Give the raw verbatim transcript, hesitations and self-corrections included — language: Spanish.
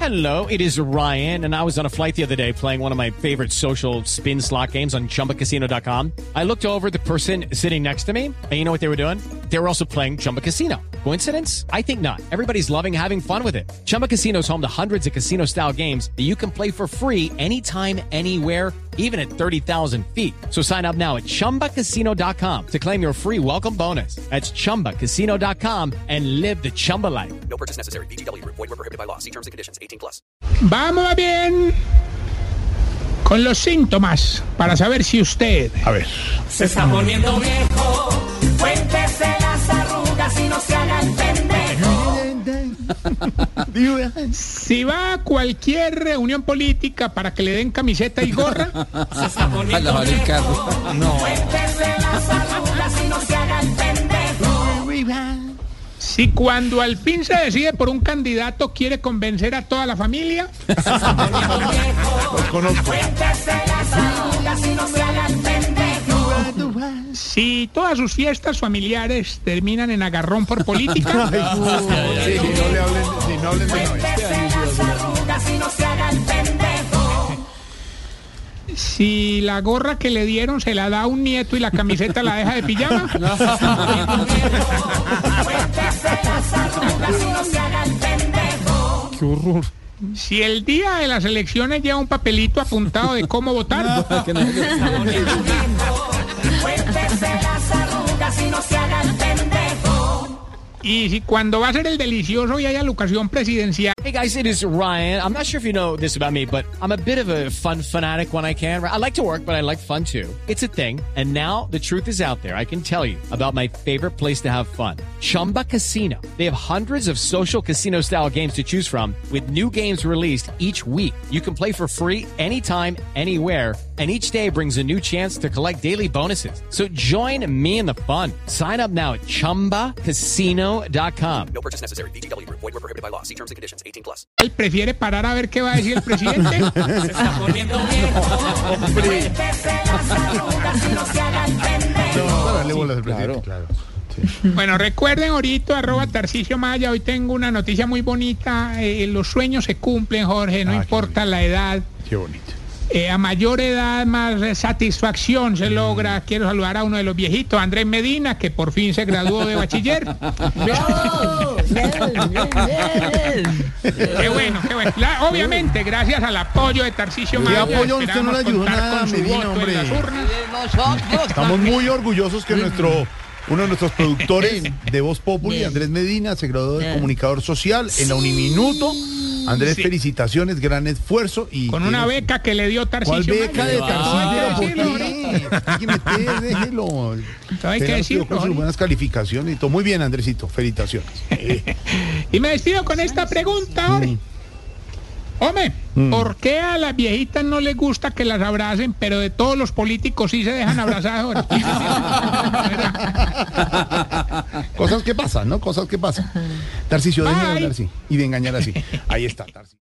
Hello, it is Ryan, and I was on a flight the other day playing one of my favorite social spin slot games on Chumba Casino dot com. I looked over at the person sitting next to me, and you know what they were doing? They were also playing Chumba Casino. Coincidence? I think not. Everybody's loving having fun with it. Chumba Casino is home to hundreds of casino-style games that you can play for free anytime, anywhere, even at thirty thousand feet. So sign up now at Chumba Casino dot com to claim your free welcome bonus. That's Chumba Casino dot com and live the Chumba life. No purchase necessary. V G W. Void where prohibited by law. See terms and conditions. eighteen plus. Vamos bien con los síntomas para saber si usted... A ver. Se está poniendo viejo, cuéntese las arrugas y no se haga el pendejo. Si va a cualquier reunión política para que le den camiseta y gorra... Se está poniendo viejo, cuéntese las arrugas y no se haga el pendejo. Si cuando al fin se decide por un candidato quiere convencer a toda la familia... Se está poniendo viejo, Los conozco. cuéntese las arrugas y no se haga el pendejo. Si todas sus fiestas familiares terminan en agarrón por política... Ay, no, sí, no le hablen, sí, no hablen de Cuéntese las arrugas y no se haga el pendejo. Si la gorra que le dieron se la da a un nieto y la camiseta la deja de pijama... Cuéntese las arrugas y no se haga el pendejo. Qué horror. Si el día de las elecciones lleva un papelito apuntado de cómo votar... Cuéntese las arrugas y no se haga el pendejo. Y si cuando va a ser el delicioso y hay alocación presidencial... Hey guys, it is Ryan. I'm not sure if you know this about me, but I'm a bit of a fun fanatic when I can. I like to work, but I like fun too. It's a thing. And now the truth is out there. I can tell you about my favorite place to have fun. Chumba Casino. They have hundreds of social casino style games to choose from with new games released each week. You can play for free anytime, anywhere. And each day brings a new chance to collect daily bonuses. So join me in the fun. Sign up now at Chumba Casino dot com. No purchase necessary. V G W. Void where prohibited by law. See terms and conditions. eighteen plus. Él prefiere parar a ver qué va a decir el presidente. Se está poniendo viejo. Cuéntese las arrugas y no se haga el pendejo. Para darle bolas al presidente, claro. Bueno, recuerden ahorita, arroba Tarcisio Maya, hoy tengo una noticia muy bonita. Eh, los sueños se cumplen, Jorge, no Ah, qué importa la edad. Qué bonito. Eh, a mayor edad, más eh, satisfacción se logra. Quiero saludar a uno de los viejitos, Andrés Medina, que por fin se graduó de bachiller. Qué bueno, qué bueno. La- obviamente, gracias al apoyo de Tarcisio ¿Qué Maya. apoyo? Usted no le esperamos ayudó contar nada, con su Medina, voto en hombre. las urnas. Estamos muy orgullosos que nuestro uno de nuestros productores de Voz Populi, Andrés Medina, se graduó de comunicador social en la Uniminuto. Andrés, Sí. felicitaciones, gran esfuerzo y Con una tiene- beca que le dio ¿Cuál Tarcisio beca de Maya. Tarcisio? Hay que ¿Por decirlo, qué? Hay que meter, déjelo. hay que Tenga decirlo, con sus Jorge. buenas calificaciones y todo. Muy bien, Andresito, felicitaciones. Eh, Y me despido con esta pregunta, Jorge. Hombre, ¿por qué a las viejitas no les gusta que las abracen, pero de todos los políticos sí se dejan abrazar, Jorge? Cosas que pasan, ¿no? Cosas que pasan. Tarcisio, deje de Bye. hablar así y de engañar así. Ahí está, Tarcisio.